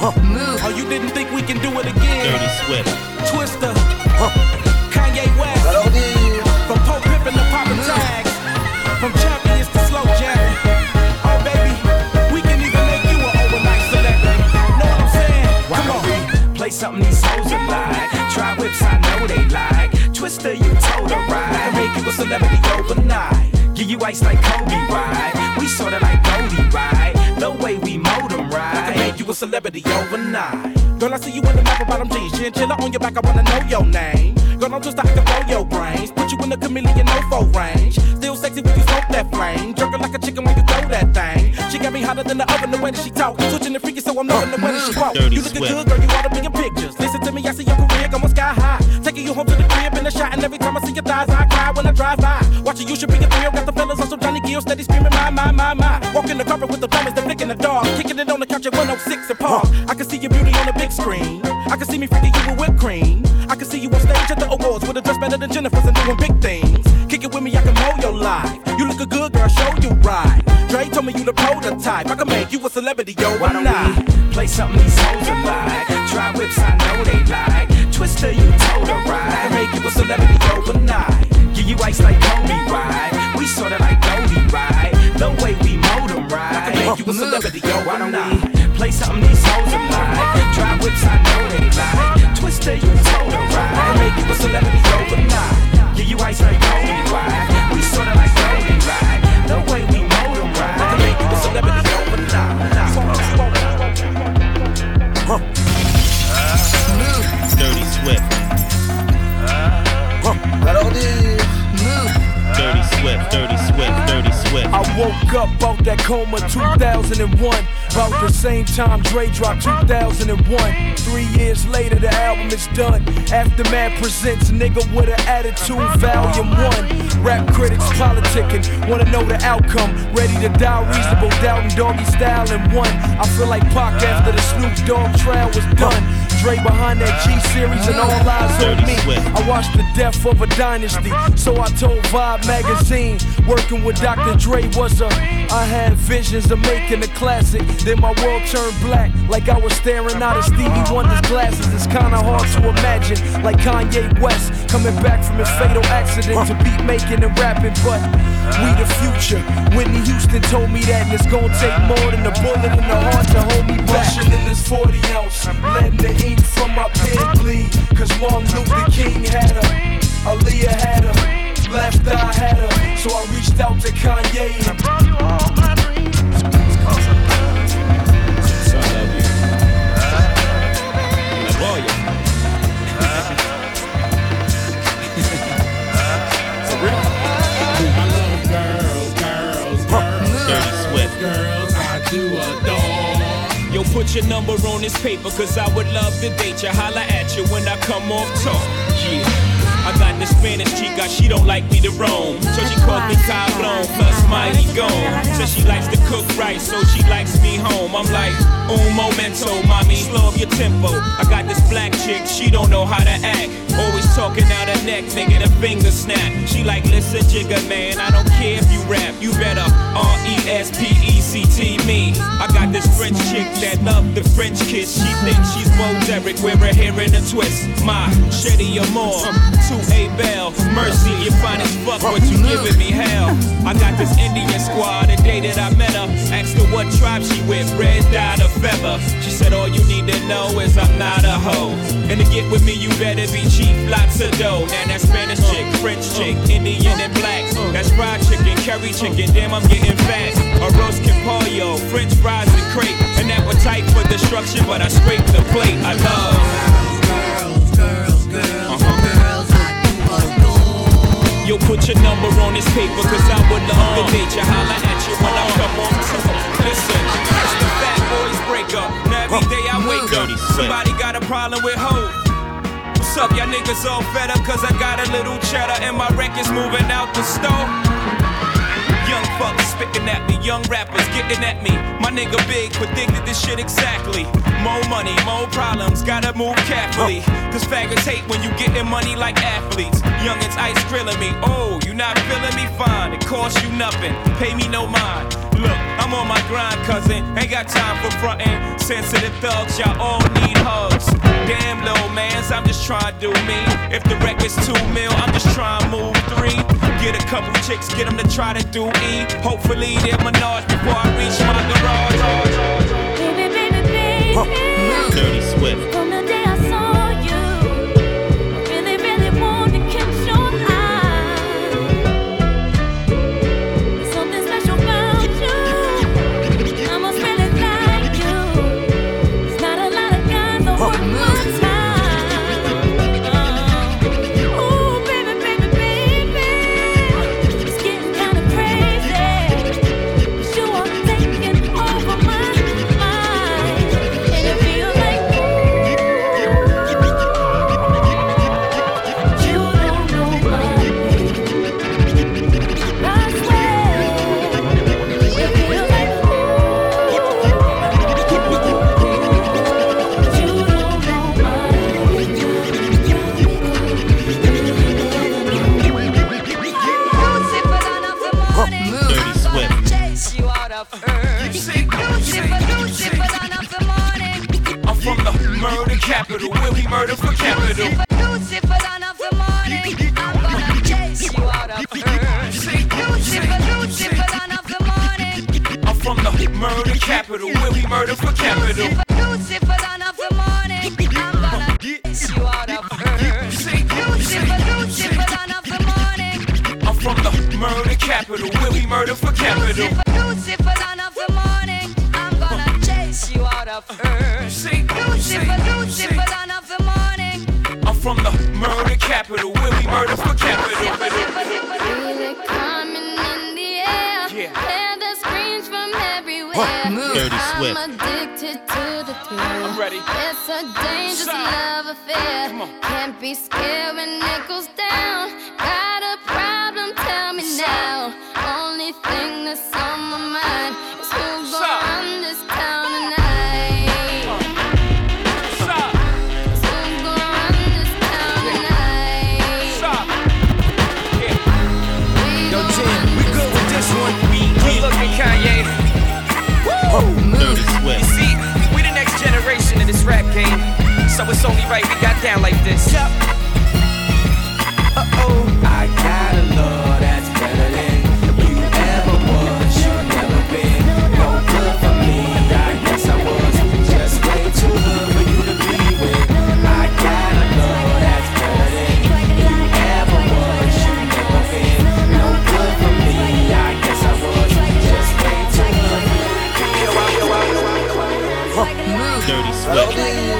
Move. Oh, you didn't think we can do it again? Dirty Swift. Twister. Kanye West. From Pope Pippin to Papa Tags. From champions to slow jamming. Oh, baby, we can even make you an overnight celebrity. Know what I'm saying? Come on. Play something these hoes are like. Try whips, I know they like. Twister, you told her right. Make you a celebrity overnight. Give you ice like Kobe, right? We sorta like Goldie, right? The way we mold them, right? Make you a celebrity overnight. Girl, I see you in the map bottom jeans. Chinchilla on your back, I wanna know your name. Girl, I'm just out to blow your brains. Put you in the chameleon no-fo range. Still sexy when you smoke that flame. Jerking like a chicken when you throw that thing. She got me hotter than the oven the way that she talk. Switching the freaky so I'm loving the way that she walk. You looking good, girl, you oughta be in pictures. Listen to me, I see your career going sky high. Taking you home to the crib in a shot. And every time I see your thighs, I cry when I drive by. Watching you should be a thrill. Got the fellas on some Johnny Gill, steady screaming my. Walking the carpet with the plumbers, they're flicking the dog. Kicking it on the couch at 106 and Park. I can see your beauty on the big screen. I can see me freaking you with whipped cream. I can see you on stage at the awards with a dress better than Jennifer's and doing big things. Kick it with me, I can mold your life. You look a good girl, show you right. Dre told me you the prototype. I can make you a celebrity, yo. Why don't we play something these hoes are like? Try whips, I know they like. Twister, you told her right. I can make you a celebrity overnight. Give you ice like Kobe, right? We sorta like Goldie, right? The way we mold them, right? I can make you a celebrity, yo. Why don't we play something these hoes are like? Try whips, I know they like. Twister, you told her right. I can make you a celebrity overnight. Give you ice like Kobe, right? We sorta like Goldie, right? The way we mold them, right? I can make you a celebrity overnight. Dirty Swift. Dirty Swift, Dirty Swift, Dirty Swift. I woke up out that coma 2001. About the same time Dre dropped 2001. 3 years later the album is done. Aftermath presents Nigga with an Attitude Volume 1. Rap critics politicking, wanna know the outcome. Ready to die, reasonable doubt and doggy style in one. I feel like Pac after the Snoop Dogg trial was done. Dre behind that G-Series and all eyes on me. I watched the death of a dynasty, so I told Vibe magazine. Working with Dr. Dre was I had visions of making a classic. Then my world turned black, like I was staring out of Stevie Wonder's glasses. It's kinda hard to imagine, like Kanye West coming back from his fatal accident to beat making and rapping. But we the future. Whitney Houston told me that, and it's gonna take more than a bullet in the heart to hold me back. Rushing in this 40 ounce, letting the ink from my pen bleed. Cause Martin Luther King had her, Aaliyah had her, Left Eye had her. So I reached out to Kanye and brought you all my dreams. Cause I love you. So I love you. I love you. For real? I love girls. Dirty Swift. Girls I do adore. Yo, put your number on this paper, cause I would love to date you. Holla at you when I come off talk. Yeah. I got the Spanish chica, she don't like me to roam. So she calls me Cablon, plus Mighty Gone. Says she likes to cook right, so she likes me home. I'm like, un momento, mommy, slow up your tempo. I got this black chick, she don't know how to act. Always talking out her neck, making her finger snap. She like, listen, Jigga, man, I don't care if you rap. You better R-E-S-P-E-C-T me. I got this French chick that love the French kiss. She thinks she's Bo Derek, wear her hair in a twist. My Shetty Amore, 2A Bell, Mercy, you fine as fuck, but you giving me hell. I got this Indian squad, the day that I met her. Asked her what tribe she with, red dye or feather. She said all you need to know is I'm not a hoe. And to get with me you better be cheap, lots of dough. Now that Spanish chick, French chick, Indian and black. That's fried chicken, curry chicken, damn I'm getting fat. A roast pollo, French fries and crepe. An appetite for destruction, but I scrape the plate. I love girls, yo, put your number on this paper, cause I would love to date you. Holla at you when I come on tour. Listen, it's the Fat Boys breakup. Now every day I wake up, somebody got a problem with hoes. What's up, y'all niggas all fed up, cause I got a little cheddar and my record's moving out the store. Young fuckers spitting at me, young rappers getting at me. My nigga Big predicted this shit exactly. More money, more problems, gotta move carefully. Cause faggots hate when you getting money like athletes. Youngins ice grilling me, oh, you not feeling me? Fine, it costs you nothing, pay me no mind. Look, I'm on my grind, cousin. Ain't got time for frontin'. Sensitive thugs, y'all all need hugs. Damn, little mans, I'm just trying to do me. If the record's 2 mil, I'm just trying to move 3. Get a couple chicks, get them to try to do E. Hopefully they're Menage before I reach my garage. Baby, baby, baby. Dirty Swift. From the day I saw you, I really, really want to catch your eye. There's something special about you. I must really like you. There's not a lot of guys that worth my time. Ooh, baby, baby, baby. It's getting kind of crazy. But you are taking over my mind. And it feels like you don't know my name. I swear, it feels like you don't know my name. Dirty Swift. Chase you out of earth. Lucifer, dawn of the morning. I'm from the murder capital, where we murder for capital. Lucifer, dawn of the morning. I'm gonna chase you out of earth. Lucifer, dawn of the morning. I'm from the murder capital, where we murder for capital. Lucifer, dawn of the morning. I'm gonna chase you out of earth. Lucifer, dawn of the morning. I'm from the murder capital, where we murder for capital. Lucifer, dawn of the morning. I'm gonna chase you out of earth. Lucifer, dawn of the morning. I'm from the murder capital, where we murder for capital. Feel it coming in the air. Yeah. Hear the screams from everywhere. Dirty Swift. I'm addicted to the thrill. I'm ready. It's a dangerous Stop. love affair. Come on. Can't be scared when it goes down. Got a problem? Tell me now. Only thing that's on my mind is who's Stop. gonna run this town tonight. Stop, Who's gonna run this town tonight? stop. Yo, Tim, we good with this one. Good looking Kanye. Dirty You Swift. see, we the next generation of this rap game, so it's only right we got down like this. Yep. I got a love that's better than you ever was. You never been no good for me. I guess I was just way too good for you to be with. I got a love that's better than you ever was. You never been no good for me. I guess I was just way too good for you. Dirty Swift.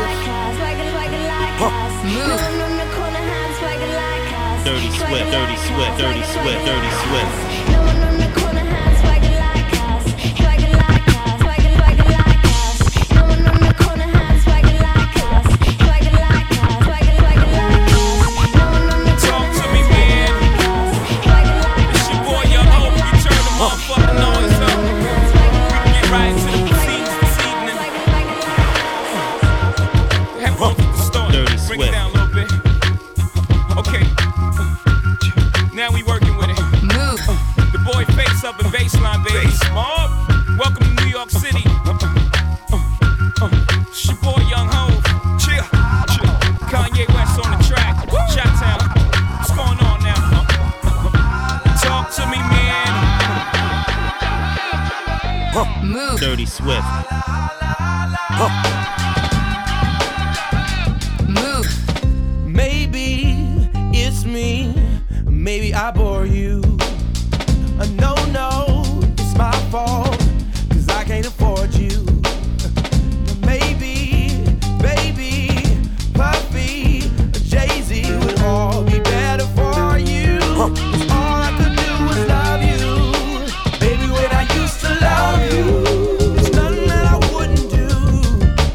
Dirty Swift. Dirty Swift. Dirty Swift. Dirty Swift. Talk to me, man. It's your boy, Young Hope. You turn the motherfucking noise up. We can get right into the proceedings this evening. Have one from the start. Dirty Bring it Swift. down a little bit. Okay. Now we working with it. The boy Face up in baseline, baby. Mob. Welcome to New York City. It's your boy Young Hov. Chill. Kanye West on the track. Chi-Town. What's going on now? Talk to me, man. Dirty Swift. Maybe it's me, maybe I bore you. No, it's my fault, 'cause I can't afford you. Maybe, baby, Puffy, Jay-Z would all be better for you. 'Cause all I could do was love you. Baby, when I used to love you, there's nothing that I wouldn't do.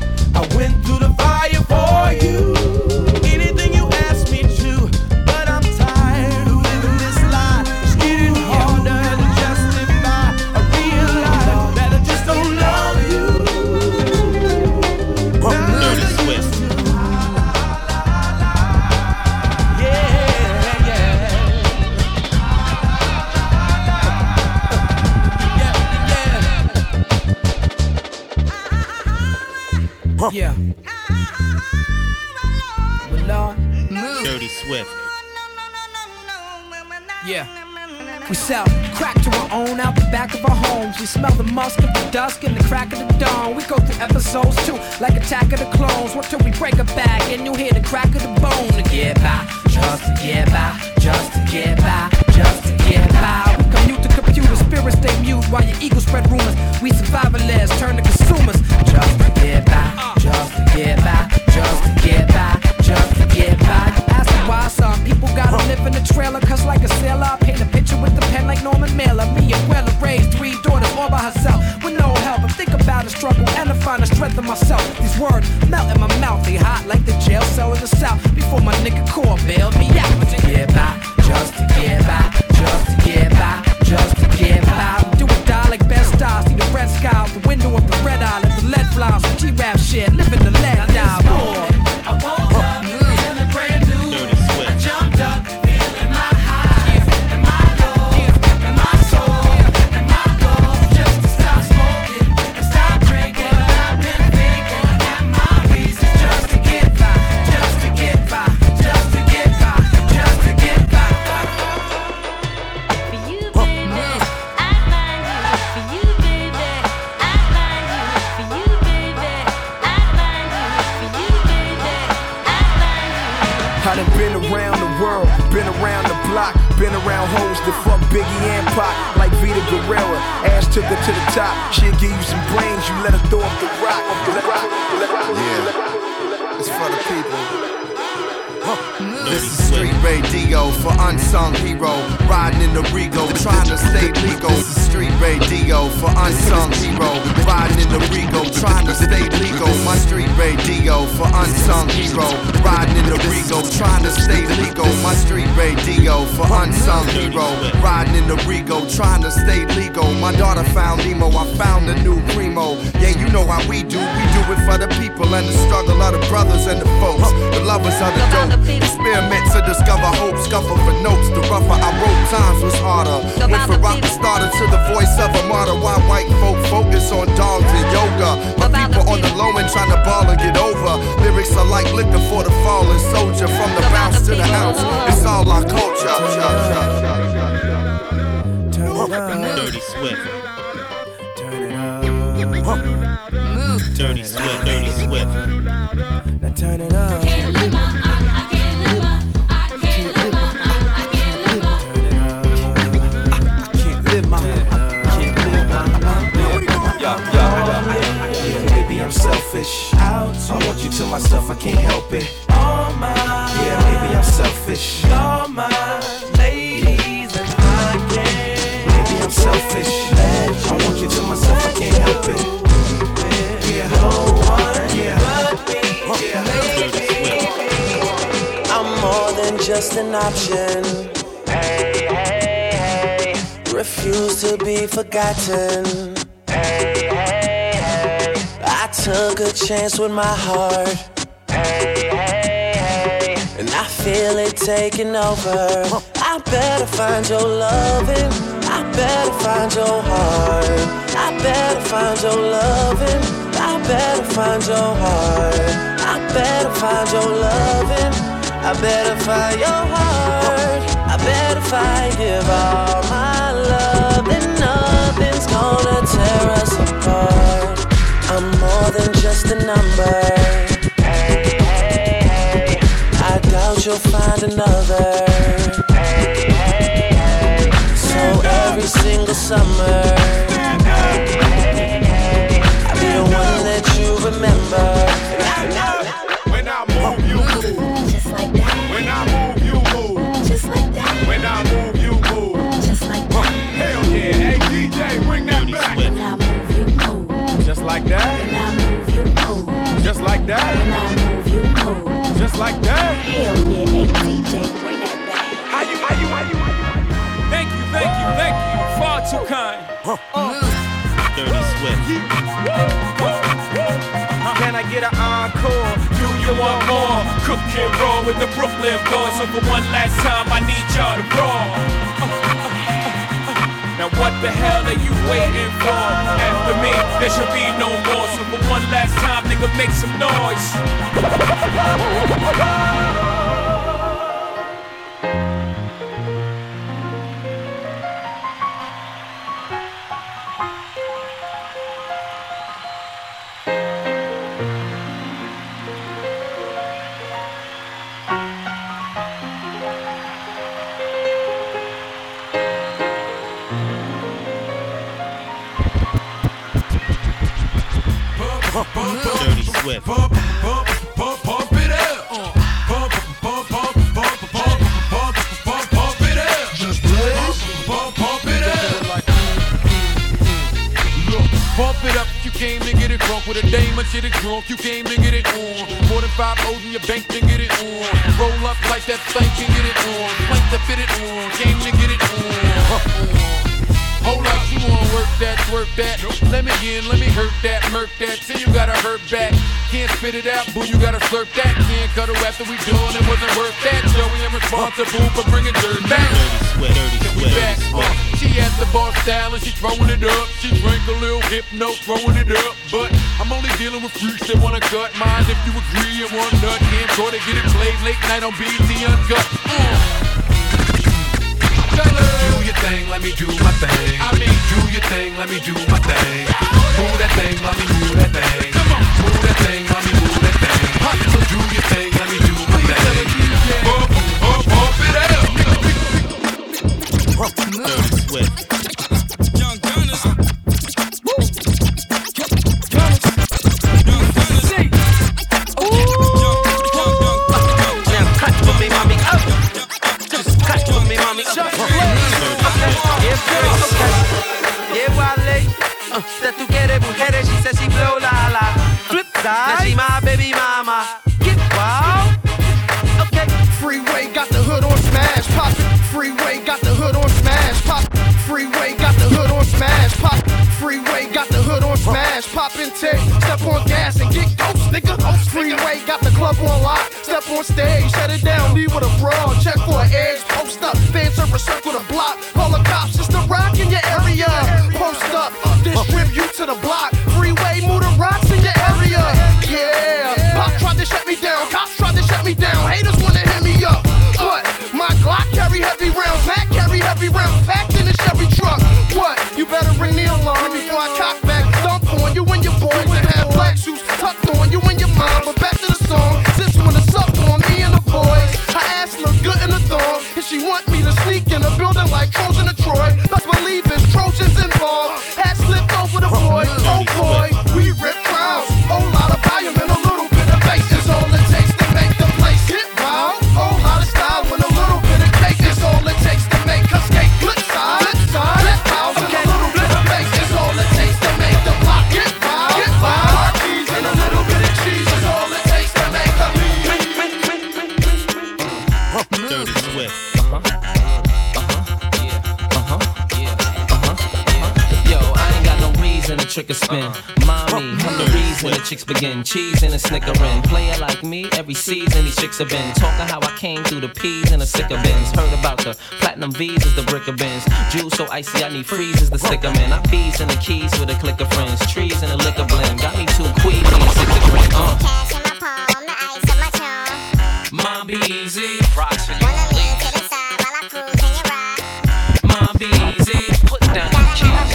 Yeah. Well, Lord. Dirty Swift. Yeah. We sell crack to our own out the back of our homes. We smell the musk of the dusk and the crack of the dawn. We go through episodes too, like Attack of the Clones. What till we break a back and you hear the crack of the bone. To get by, just to get by, just to get by, just to get by. We commute to computer, spirits stay mute while your ego spread rumors. We survivalists turn to consumers. Just to get by, just to get by, just to get by, just to get by. You ask me why some people gotta live in a trailer, cause like a sailor I paint a picture with the pen like Norman Mailer. Me and Wella raised 3 daughters all by herself with no help. And think about the struggle and to find the strength in myself. These words melt in my mouth, they hot like the jail cell in the south. Before my nigga Core bailed me out. To get by, just to get by, just to get by, just to get by. We do or die like best stars, see the red sky out the window of the red eye. Let the lead fly on some G-rap shit, living the lead die. I woke up feeling brand new. Dirty Swift. I jumped up feeling my highs and my lows and my soul and my goals. Just to stop smoking and stop drinking. I've been thinking and my reasons just to get by, just to get by, just to get by, just to get by. For you, baby, I find you. For you, baby, I find you. For you, baby, I find you. For you, baby, I find you. I done been around the world, been around the block, been around hoes that fuck Biggie and Pac, like Vita Guerrera. Ash took her to the top, she'll give you some brains, you let her throw up the rock. Yeah, it's for the people. This Dirty is street radio for unsung hero. Riding in the Rego, trying to stay legal. This is street radio for unsung hero. Riding in the Rego, trying to stay legal. My street radio for unsung hero. Riding in the Rego, trying to stay legal. My street radio for unsung hero. Riding in the Rego, trying to stay legal. My daughter found Nemo, I found a new primo. Yeah, you know how we do it for the people and the struggle of the brothers and the folks, the lovers of the dope. Experiments to discover hope, scuffle for notes. The rougher I wrote, times was harder. Went from rock starter to the voice of a martyr. Why white folk focus on dogs and yoga? My people on the low end trying to ball and get over. Lyrics are like liquor for the fallen soldier. From the bounce to the ounce, it's all our culture. Dirty Swift. Turn it up. Dirty Swift. Dirty Swift. Now turn it up. Maybe I'm selfish. I want you to myself, I can't help it. All mine. Yeah, maybe I'm selfish. All mine. Ladies, and I can't. Maybe I'm selfish. I want you to myself, I can't help it. Yeah, no one. Yeah, but me. Yeah, I'm more than just an option. Hey, hey, hey. Refuse to be forgotten. Hey, hey, hey. I took a chance with my heart. Hey, hey, hey. And I feel it taking over. I better find your loving. I better find your heart. I better find your loving. I better find your heart. I better find your loving. I better find your heart. I better find, give all my love, and nothing's gonna tear us apart. I'm more than just a number. Hey, hey, hey. I doubt you'll find another. Hey, hey, hey. So every single summer, hey, hey, hey. I'll be the one that you remember. When I move, you move. Just like that. When I move, you move. Just like that. When I move, you move. Just like that. Hell yeah, hey DJ, bring that Dirty back. Swift. When I move, you move. Just like that, When I move, you move. just like When that, I move, you move. just like that. Hell yeah, hey DJ, bring that back. How you? Thank you. Far too kind. Dirty Swift. Can I get an encore? Do you want more? Cook and roll with the Brooklyn boys. So for one last time, I need y'all to roll. Now what the hell are you waiting for? After me, there should be no more. So for one last time, nigga, make some noise. Dirty Swift. Pump it up. Pump it up. Just blaze. Pump it up. Look, pump it up. You came to get it drunk with a dame and shit it drunk. You came to get it on. More than 5 O's in your bank to get it on. Roll up like that thing can get it on. Plank to fit it on. Came to get it on. Hold up, you wanna work that, twerk that. Let me in, let me hurt that, murk that. Till you gotta hurt back. Can't spit it out, boo, you gotta slurp that. Can't cuddle after we done, it wasn't worth that. Joey, I'm responsible for bringing dirt back. Dirty Swift. She at the bar style and she throwing it up. She drank a little hypno, throwing it up. But I'm only dealing with freaks that wanna cut mine. If you agree and want nut, can't go to get it played late night on BT Uncut. Do your thing, let me do my thing. I mean, do your thing, let me do my thing. Move that thing, let me move that thing. Move that thing, let me move that thing. So do your thing, let me do my thing. Pump it up. Dirty Swift. Young Gunners. Cut for me, mommy. Just cut for me, mommy. Yeah, Wale. That tú quieres mujeres, she said she blow la la. Flip side. Now she my baby mama. Get wild. Okay. Freeway got the hood on smash pop. Freeway got the hood on smash pop. Freeway got the hood on smash pop. Freeway got the hood on smash pop and take. Step on gas and get ghost, nigga. Freeway got the club on lock. Step on stage, shut it down. Leave with a brawl. Check for an edge. Post up. Fans over circle the block. Call the cops. It's the rock in your area. Post up. Distribute to the block. Freeway move the rocks in your area. Yeah. Pop tried to shut me down. Cops tried to shut me down. Haters wanna hit me up. What? My Glock carry heavy rounds. Mac carry heavy rounds. Packed in a Chevy truck. What? You better ring the alarm before I cock back. Dump on you and your boys and have black shoes tucked on you and your mom. But back to the song. Since when it's up on me and the boys. Her ass look good in the thong. And she want me to sneak in a building like Trojan to Troy. Let's believe it's Trojans involved. Hat slipped over the boy. Oh boy, we rip crowds. Whole lot of volume and a little bit of bass is all it takes to make the place get wild. Whole lot of style and a little bit of cake is all it takes to make us skate. Flip side, flip house and a little bit of bass is all it takes to make the block get wild. Get wild. Cheese and a little bit of cheese is all it takes to make the Dirty Swift. And a trick or spin. Mommy, I'm the reason the chicks begin. Cheese and a snickering. Player like me, every season these chicks have been talking how I came through the P's and the sicker bins. Heard about the platinum V's as the bricker bins. Juice so icy, I need freezes to stick 'em in. I bees in the keys with a click of friends. Trees in a liquor blend. Got me 2 queasy and 6 of green. Cash in my palm, the ice on my charm. Mom, be easy. Rocks for Wanna you. lean to the side while I cruise in your ride. Mom, be easy. Put down the keys.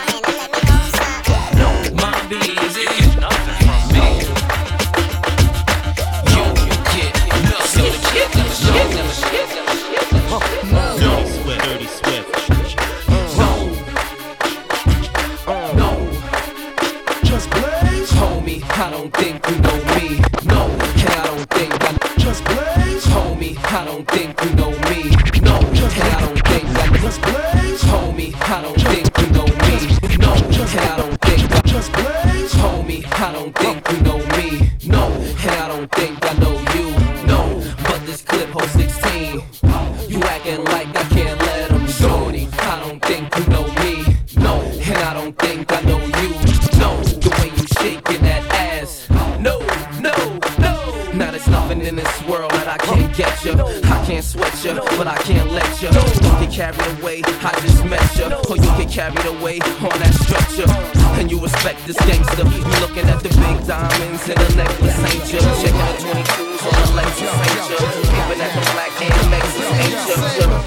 Mom, be easy. Nothing from me. You get nothing. Dirty Swift. Dirty Swift. No. Just blaze. Homie, I don't think you know me. No. And I don't think I just blaze. Homie, I don't think you know me. No. And I don't think I just blaze. Homie, I don't think you know me. No. And I don't think I just blaze. Homie, I don't think you know me. No. And I don't think I know you. No. But this clip holds 16. You acting like I can't let him show me. I don't think you know me. No. And I don't think I know you. No. The way you shaking that ass. No. Now there's nothing in this world that I can't get you. I can't sweat you, but I can't let you. You get carried away, I just met you. Or you get carried away on that stretcher. And you respect this gangster. You looking at the big diamonds in the necklace, ain't ya? Checking the 22s on the Lexus, ain't ya? Keeping at the black and Lexus, ain't ya?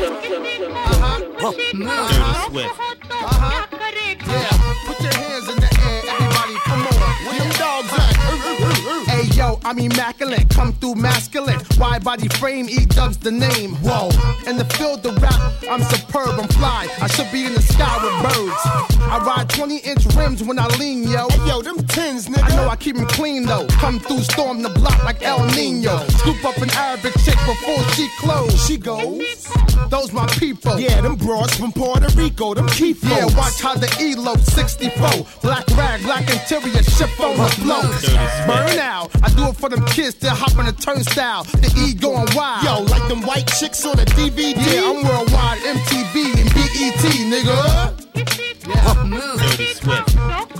Dirty Swift. Yeah, put your hands in the air, everybody, come on. Where them dogs at? Hey yo, I'm immaculate, come through masculine. Wide body frame, E-Dub's the name. Whoa, in the field of rap, I'm superb, I'm fly. I should be in the sky with birds. I ride 20-inch rims when I lean, yo. Hey yo, them tins, nigga. I know I keep them clean though. Come through, storm the block like El Nino. Scoop up an Arabic chick before she close. She goes. Those my people. Yeah, them broads from Puerto Rico, them key folks. Yeah, watch how the E-Load 64. Black rag, black interior, shift on the flow. Burn out. I do it for them kids that hop on the turnstile. The E going wild. Yo, like them white chicks on the DVD. Yeah, I'm worldwide, MTV and BET, nigga. Yeah. Dirty Swift.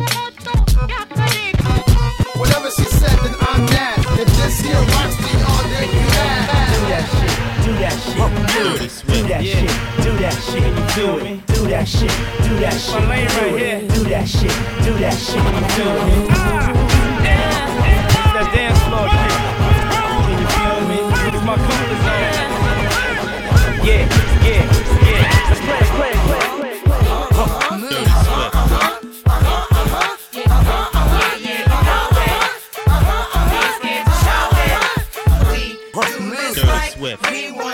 Whatever she said, then I'm mad. If this here watch me all day, you mad. Do that shit, Dirty Swift. do that shit, do that shit, you feel me? Do that shit, do that shit, My lane right here. do that shit, you feel me? That dance floor shit. You feel me? It's my comfort zone. Yeah. Let's play. Dirty Swift. Dirty Swift.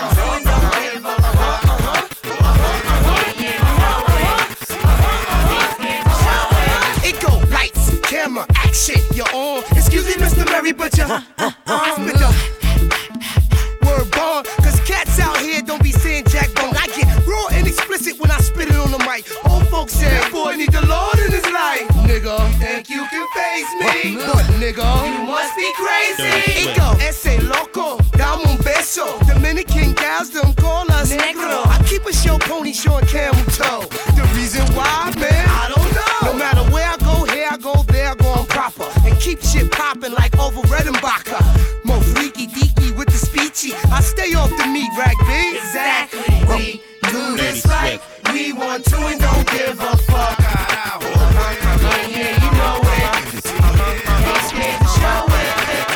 It go lights, camera, action, you're on. Excuse me, Mr. Mary, but you're with the word bond. Cause cats out here don't be saying jack bone. I get raw and explicit when I spit it on the mic. Old folks say, boy, need the Lord in his life. Nigga, think you can face me? But nigga, you must be crazy. It go, ese loco, dame un beso. Dominican gals don't call us negro. I keep a show pony showing camel toe. The reason why, man, I don't know. No matter where I go, here I go, there I go, I'm proper. And keep shit popping like over Redenbacher. More freaky deaky with the speechy. I stay off the meat rack, B. Exactly. We do this like we want to and don't give a fuck. Yeah, you know it. Ain't scared to show it.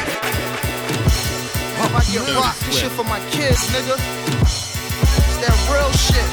I get rock this shit for my kids, nigga. It's that real shit.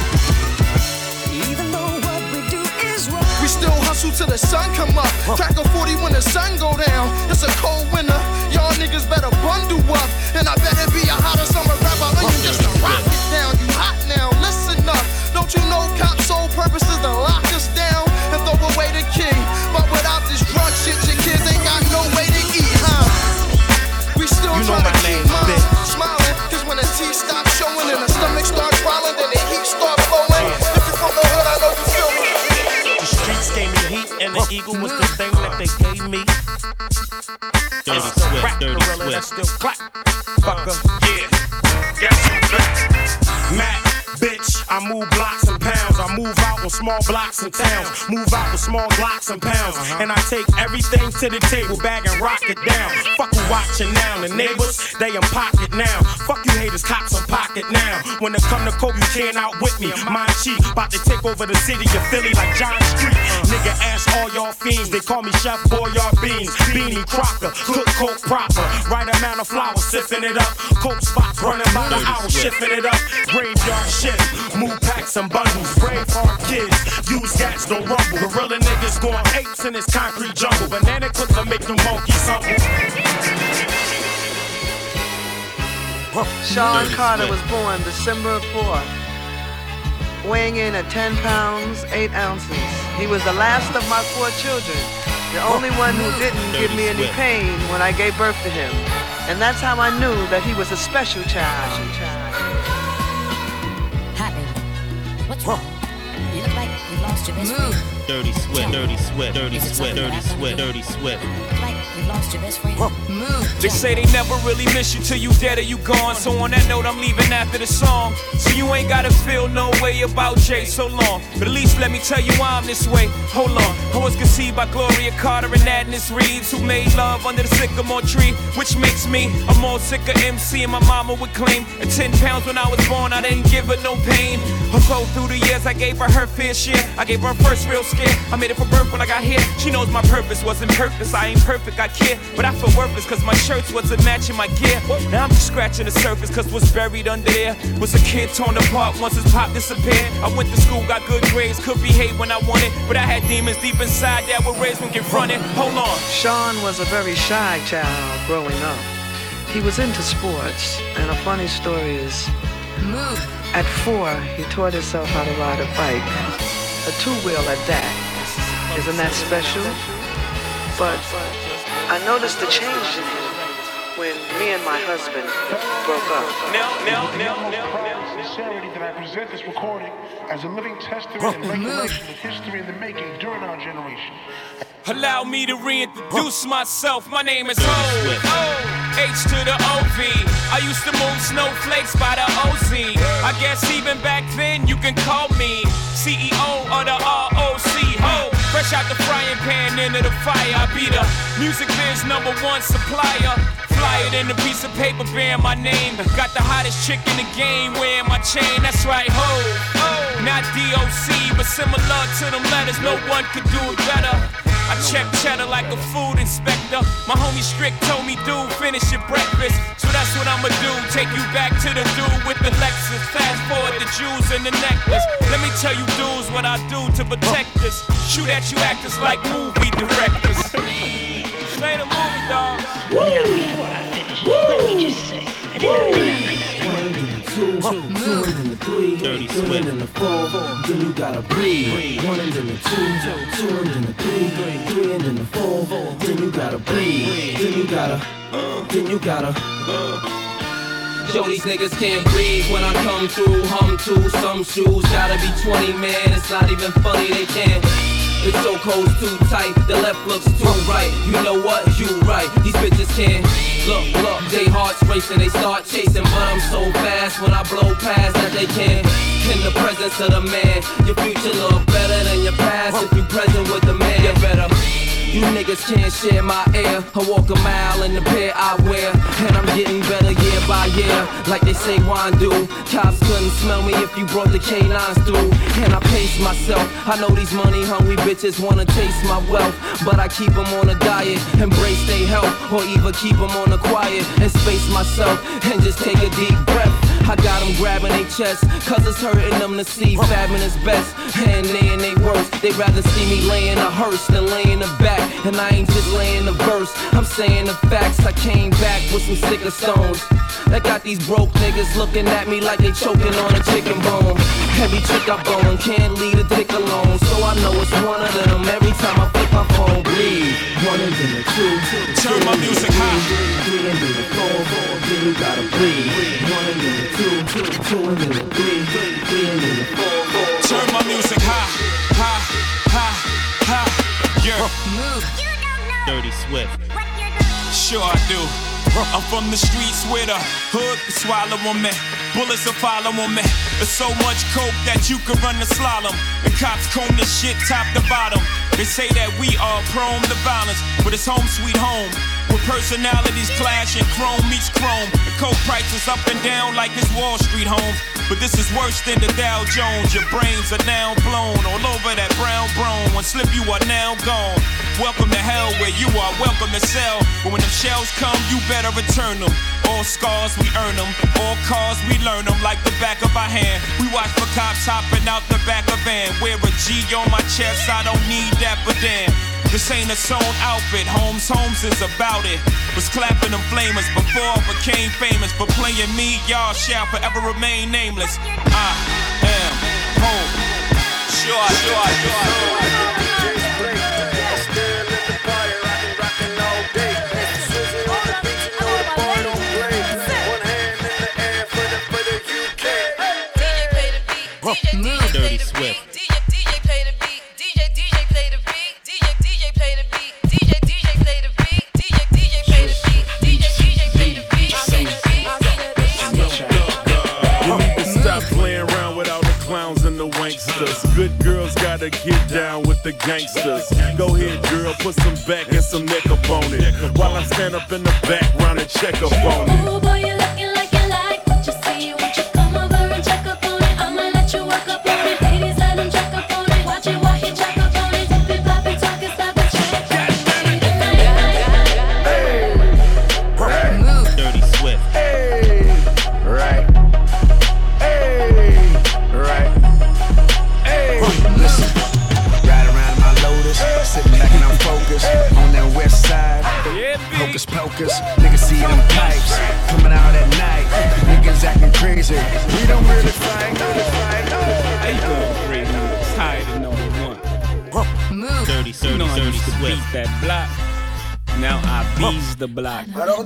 Even though what we do is wrong. We still hustle till the sun come up. Crack a 40 when the sun go down. It's a cold winter. Y'all niggas better bundle up. And I better be a hotter summer rapper onion just to rock it down. You hot now, listen up. Don't you know cops' sole purpose is to lock us down and throw away the key? But without this drug shit, your kids ain't got no way to eat, huh? We still trying to keep minds smiling. Cause when the teeth stop showing and the stomach start crawling, then the heat start flowing. If you from the hood, I know you feel me. The streets gave me heat, and the eagle was the thing that they gave me. Dirty Swift, Dirty Swift. Still clap, fucker. Yeah, Mac, bitch, I move blocks and pounds. I move out on small blocks and towns. Move out with small blocks and pounds. And I take everything to the table, bag and rock it down. Fuck who watching now. The neighbors, they in pocket now. Fuck you haters, cops in pocket now. When it come to coke, you can't outwit me. Mind cheap, about to take over the city of Philly like John Street. Nigga, ask all y'all fiends. They call me Chef Boyard Beans. Beanie Crocker, cook coke proper. Right amount of flour, sipping it up. Coke spots running by the hour, shifting it up. Graveyard shift, move packs and bundles. Brave hard kids, use gats, don't rumble. Gorilla niggas going apes in this concrete jungle. Banana clips will make them monkeys humble. Sean Carter was born December 4th, weighing in at 10 pounds, 8 ounces. He was the last of my 4 children, the only one who didn't give me any pain when I gave birth to him. And that's how I knew that he was a special child. Hi, baby. What's wrong? You look like you've lost your best friend. Dirty Swift, Dirty Swift, Dirty Swift, Dirty Swift, Dirty Swift. Like you've lost your best friend. They say they never really miss you till you dead or you gone. So on that note, I'm leaving after the song. So you ain't gotta feel no way about Jay so long. But at least let me tell you why I'm this way. Hold on. I was conceived by Gloria Carter and Agnes Reeves, who made love under the sycamore tree, which makes me a more sicker MC. And my mama would claim at 10 pounds when I was born, I didn't give her no pain. Although through the years I gave her fair share. I gave her first real scare. I made it for birth when I got here. She knows my purpose wasn't purpose. I ain't perfect. I care. But I feel worthless cause my shirts wasn't matching my gear. Now I'm just scratching the surface cause what's buried under there was a kid torn apart once his pop disappeared. I went to school, got good grades, could behave when I wanted, but I had demons deep inside that were raised when confronted. Hold on. Sean was a very shy child growing up. He was into sports, and a funny story is, at 4, he taught himself how to ride a bike, a two-wheel at that. Isn't that special? But I noticed the change in him when me and my husband broke up. The sincerity that I present this recording as a living testament and regulation of history in the making during our generation. Allow me to reintroduce myself. My name is Ho, H to the OV. I used to move snowflakes by the OZ. I guess even back then you can call me CEO of the ROC. Ho, fresh out the frying pan into the fire. I be the music biz #1 supplier. Fly it in a piece of paper bearing my name. Got the hottest chick in the game wearing my chain. That's right, Ho. Not DOC, but similar to them letters. No one could do it better. I check cheddar like a food inspector. My homie Strick told me, dude, finish your breakfast. So that's what I'ma do, take you back to the dude with the Lexus. Fast forward the jewels and the necklace. Let me tell you dudes what I do to protect us. Shoot at you actors like movie directors. This ain't a movie, dog. Now before I finish, let me just say, I didn't two and then the 3, Dirty two and then the 4, then you gotta breathe. 1 and then the 2 and then the 3 and then the 4, then you gotta breathe. Then you gotta. Yo, these niggas can't breathe when I come through. Hum to some shoes, gotta be 20, man. It's not even funny, they can't. The chokehold's too tight, the left looks too right. You know what? You right. These bitches can't look. They hearts racing, they start chasing, but I'm so fast when I blow past that they can't. In the presence of the man, your future look better than your past if you present with the man. You better. You niggas can't share my air. I walk a mile in the pair I wear, and I'm getting better year by year, like they say wine do. Cops couldn't smell me if you brought the canines through. And I pace myself. I know these money hungry bitches wanna taste my wealth, but I keep them on a diet, embrace their health, or even keep them on the quiet and space myself and just take a deep breath. I got them grabbing their chest, cause it's hurting them to see fabbing is best. And they in they worst, they'd rather see me laying a hearse than laying the back. And I ain't just laying the verse, I'm saying the facts. I came back with some sicker stones that got these broke niggas looking at me like they choking on a chicken bone. Heavy chick I bone, can't leave a dick alone, so I know it's one of them every time I flip my phone. Breathe. 1 and then the 2, turn my music high. 3 and then the 4, then you gotta breathe. 1 and then the 2 and then the 3 and then the 4. Turn my music high, high, high, high. Yeah. Dirty Swift. Sure I do. I'm from the streets where the hood can swallow on me. Bullets will follow on me. There's so much coke that you could run the slalom. The cops comb this shit top to bottom. They say that we are prone to violence, but it's home sweet home. With personalities clash and chrome meets chrome. The coke prices up and down like it's Wall Street home. But this is worse than the Dow Jones. Your brains are now blown all over that brown brone. One slip, you are now gone. Welcome to hell where you are, welcome to sell. But when them shells come, you better return them. All scars, we earn them. All cars, we learn them like the back of our hand. We watch for cops hopping out the back of van. Wear a G on my chest, I don't need that, but damn. This ain't a sewn outfit, Holmes is about it. Was clapping them flamers before I became famous. For playing me, y'all shall forever remain nameless. I am home. Sure. Dirty Swift. DJ play the beat. DJ play the beat. DJ play the beat. DJ play the beat. DJ play the beat. DJ play the beat. You need to stop playing around with all the clowns and the wanksters. Good girls gotta get down with the gangsters. Go ahead, girl, put some back and some neck up on it, while I stand up in the background and check up on it. Oh boy, you're looking like you like what you see. Won't you come over and check up on it? I'ma let you work up on it. Ladies, let him check up on it. Watch it while he check up on it. Dip it, pop it, talk it, stop it, check. Hocus pocus, niggas see them pipes coming out at night. Niggas acting crazy. We don't really fight. How you doing, Green? Tired of number one. Move. Dirty Swift beat that block. Now I bees the block.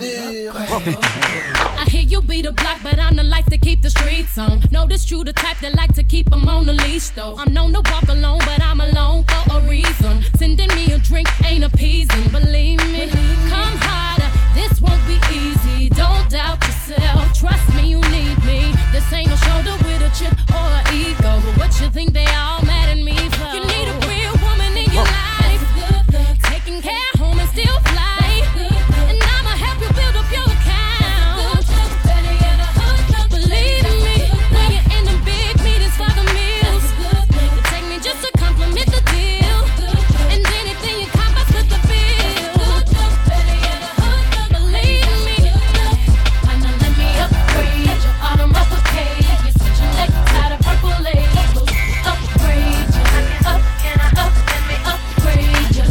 I hear you be the block, but I'm the life to keep the streets on. Notice you the type that like to keep them on the leash, though. I'm known to walk alone, but I'm alone for a reason. Sending me a drink ain't appeasing, believe me. Come harder, this won't be easy. Don't doubt yourself, trust me, you need me. This ain't no shoulder with a chip or an ego. But what you think they all mad at me for? You need a real woman in your life, taking care home and still fly. And I'ma help you build up your account. Believe me, when you're in the big meetings for the meals, you take me just to compliment the deal. And anything you cop us with the bill. Believe me, why not let me upgrade your automobile cage? You're such a necktie to purple labels. Upgrade you, let me upgrade you.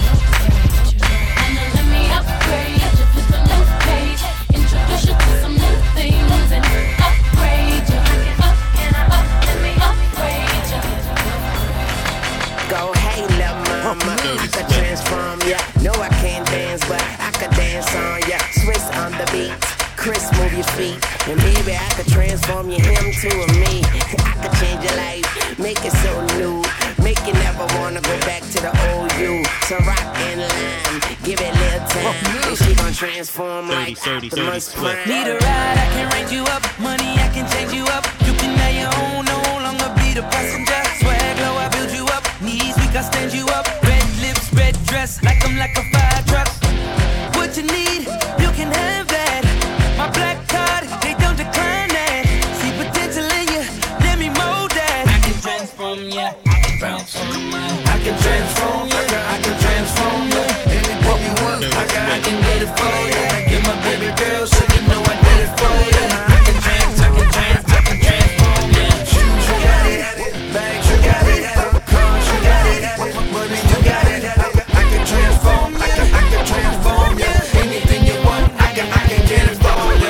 Let me upgrade you, flip a new page, introduce you to some new things, and upgrade you, let me upgrade you. Go, hey, lil' mama, I could transform ya. No, I can't dance, but I could dance on ya. Swiss on the beat, Chris, move your feet, and baby, I could transform you, him to a me. I could change your life, make it so new, make you never wanna go back to the old you. So rock and line, give it a little time, and she gon' transform like Optimus Prime. Need a ride, I can range you up. Money, I can change you up. You can have your own, no longer be the passenger. Swag low, I build you up. Knees weak, I stand you up. Red lips, red dress, like I'm like a fire truck. What you need, you can have that. My black card, they don't decline that. See potential in you, let me mold that. I can transform ya, I can transform ya. I can transform you, I can transform you. Anything you want, I can get it for you. Get my baby girl, so you know I did it for you. I can transform you. Shoes, you got it. Bags, you got it. Cars, you got it. Money, you got it. I can transform you, I can transform you. Anything you want, I can get it for you.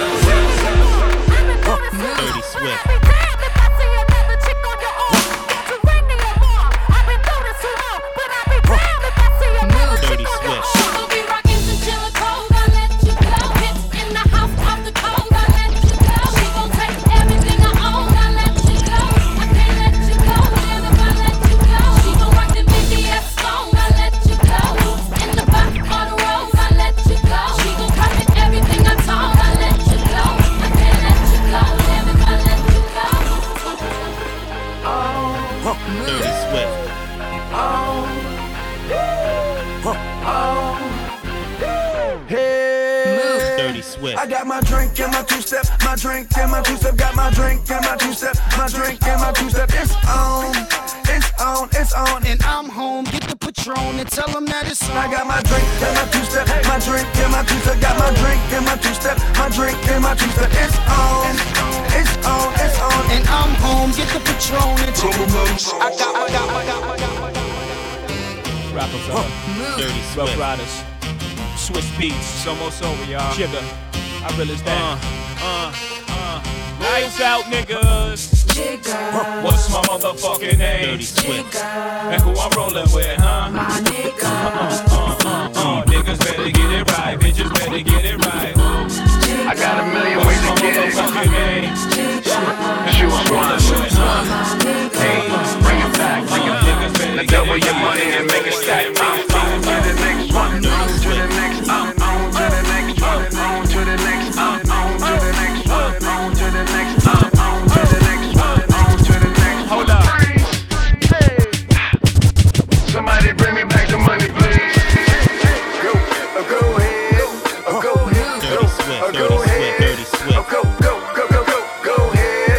Dirty Swift. Dirty Swift. She'll be rocking chinchilla clothes, I let you go. Hits in the house, off the cold, I let you go. She gon' take everything I own, I let you go. I can't let you go, damn if I let you go. She gon' rock the BTS song, I let you go. In the back of the rose, I let you go. She gon' copy everything I told, I let you go. I can't let you go, damn if I let you go. Dirty Swift. Dirty Swift. I got my drink and my two-step, my drink and my two-step, got my drink and my two-step, my drink and my two-step. It's on, it's on, it's on, and I'm home. Get the Patron and tell them that it's on. I got my drink and my two-step, my drink and my two-step, got my drink and my two-step, my drink and my two-step. It's on, it's on, it's on, and I'm home. Get the Patron and tell them that it's on. I got my. Rockefeller. Dirty Swift. Rough Riders. Swiss beats. It's almost over, y'all. Jigger. I realize that. Lights out, niggas. What's my motherfucking name? Dirty Swift. And who I'm rolling with, huh? My nigga. Niggas better get it right. Bitches better get it right. I got a million ways to get it. Choose one. Hey, bring it back, bring it back. Now double your money and make it stack. I'm on to the next one. On to the next. I'm on to the next one. On to the next. I'm on to the next one. On to the next. I'm on to the next one. On to the next. Hold up. Hey. Somebody bring me back the money, please. Go ahead. Go ahead. Dirty Swift. Dirty Swift. Dirty Swift. Go ahead.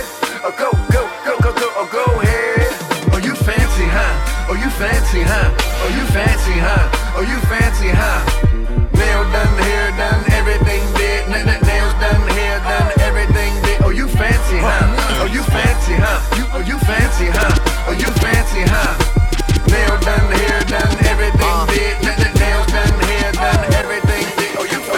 Go ahead. Oh, you fancy, huh? Oh, you fancy, huh? Oh, you fancy, huh? Oh, you fancy, huh? Nail done, hair done, everything did. Nails done, hair done, everything did. Oh, you fancy, huh? Oh, you fancy, huh? Oh, you fancy, huh? Oh, you fancy, huh? Nail done, hair done, everything did. Nails done, hair done, everything did. Oh, you fancy.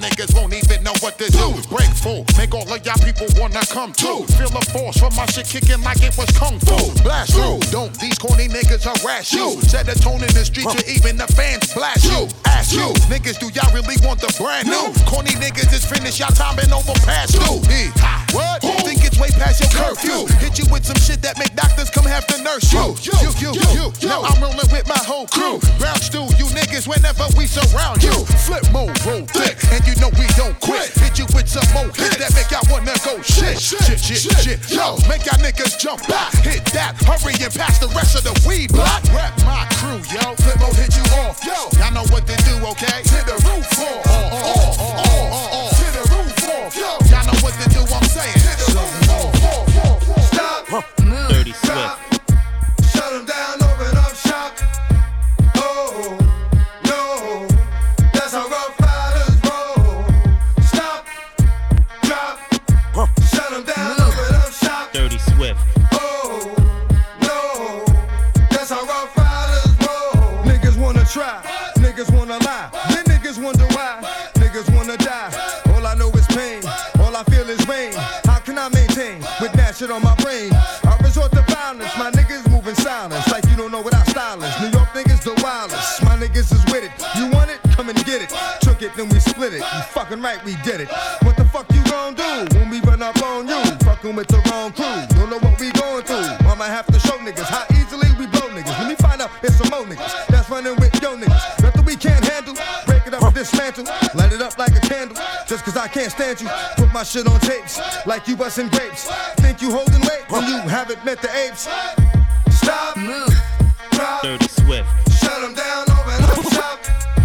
niggas won't even know what to do. Break full, make all of y'all people wanna come too. Feel the force from my shit kicking like it was kung fu. Blast through, don't these corny niggas harass you. Set a tone in the street, you even the fans blast you. Ask you, niggas, do y'all really want the brand new? Corny niggas is finished, y'all time and over past due. What? Think it's way past your curfew. Hit you with some shit that make doctors come have to nurse you. Now I'm rolling with my whole crew. Ground stew, you niggas whenever we surround you. Flip mode, roll thick, and you know we don't quit. Hit you with some more hits that make y'all wanna go shit. Yo, make y'all niggas jump back. Hit that, hurry and pass the rest of the weed block. Rap my crew, yo. Flip mode hit you off, yo. Y'all know what to do, okay? To the roof off. To the roof off, yo. Y'all know what to do, I'm saying. To the roof off. Stop. Dirty Swift. Shut them down, open up shop. Oh, no, that's how Rough Riders roll. Stop, drop, shut them down, open up shop. Dirty Swift. Oh, no, that's how Rough Riders roll. Niggas wanna try, niggas wanna lie. Then niggas wonder why, niggas wanna die. All I know is pain, all I feel is rain. How can I maintain with that shit on my brain? I resort to violence, my niggas moving silence. Like you don't know what our style is. New York niggas the wildest, my niggas is with it. You want it? Come and get it. Took it, then we split it. You fucking right, we did it. What the fuck you gon' do when we run up on you? Fucking with the wrong crew. Don't know what we going through. I'ma have to show niggas how easily we blow niggas. Let me find out it's some more niggas that's running with yo niggas. Nothing we can't handle. Break it up and dismantle. Light it up like a candle. Just cause I can't stand you. Put my shit on tapes like you bustin' grapes. Think you holding weight when you haven't met the apes. Stop, drop, Dirty Swift. shut them down, open up shop.